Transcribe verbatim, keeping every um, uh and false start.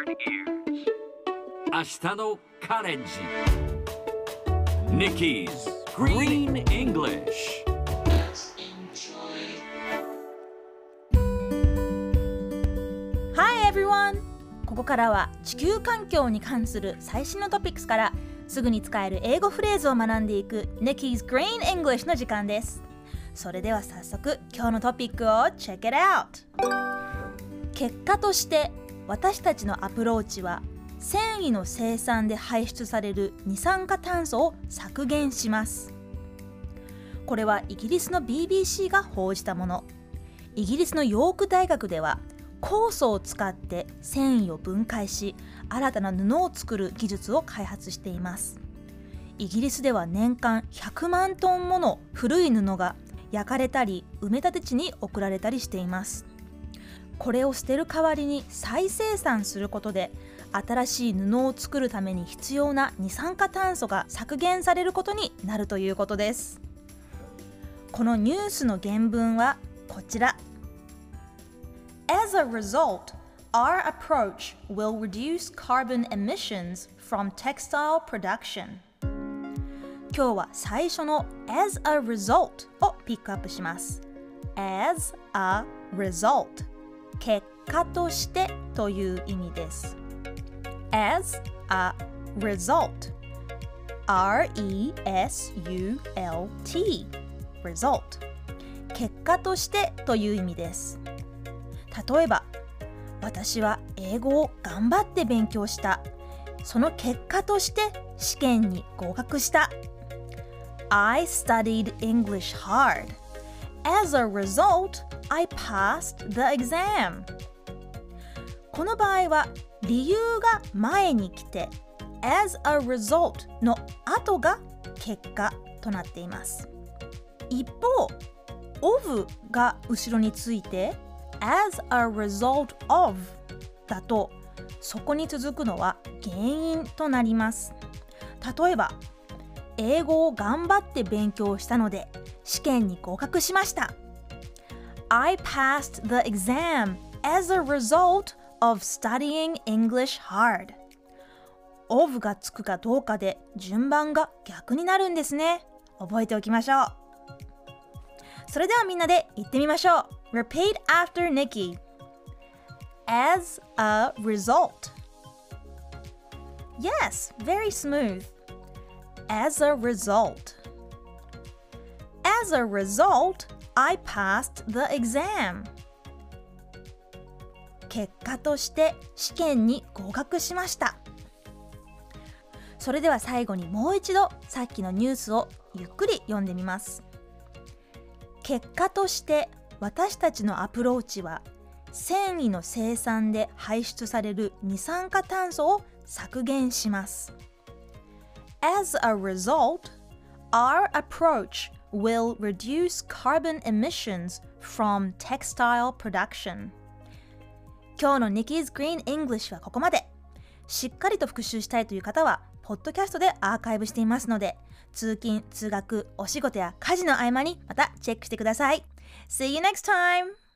明日のカレッジ Nikki's Green English Hi everyone! ここからは地球環境に関する最新のトピックスからすぐに使える英語フレーズを学んでいく Nikki's Green English の時間です。それでは早速今日のトピックを Check it out! 結果として私たちのアプローチは繊維の生産で排出される二酸化炭素を削減します。これはイギリスの ビービーシー が報じたもの。イギリスのヨーク大学では酵素を使って繊維を分解し新たな布を作る技術を開発しています。イギリスでは年間ひゃくまんトンもの古い布が焼かれたり埋め立て地に送られたりしています。これを捨てる代わりに再生産することで新しい布を作るために必要な二酸化炭素が削減されることになるということです。このニュースの原文はこちら。As a result, our approach will reduce carbon emissions from textile production. 今日は最初の as a result をピックアップします。as a result 結果としてという意味です。as a result R E S U L T result 結果としてという意味です。例えば、私は英語を頑張って勉強した。その結果として試験に合格した。I studied English hard. As a result, I passed the exam. この場合は理由が前に来て as a result の後が結果となっています。一方 of が後ろについて as a result of だとそこに続くのは原因となります。例えば英語を頑張って勉強したので試験に合格しました。I passed the exam as a result of studying English hard. of がつくかどうかで順番が逆になるんですね。覚えておきましょう。それではみんなで言ってみましょう。Repeat after Nikki. As a result. Yes, very smooth. As a result. As a result, I passed the exam. 結果として試験に合格しました。それでは最後にもう一度さっきのニュースをゆっくり読んでみます。結果として私たちのアプローチは繊維の生産で排出される二酸化炭素を削減します。As a result, our approach will reduce carbon emissions from textile production. 今日の Nikki's Green English はここまで。しっかりと復習したいという方は、ポッドキャストでアーカイブしていますので、通勤、通学、お仕事や家事の合間にまたチェックしてください。See you next time!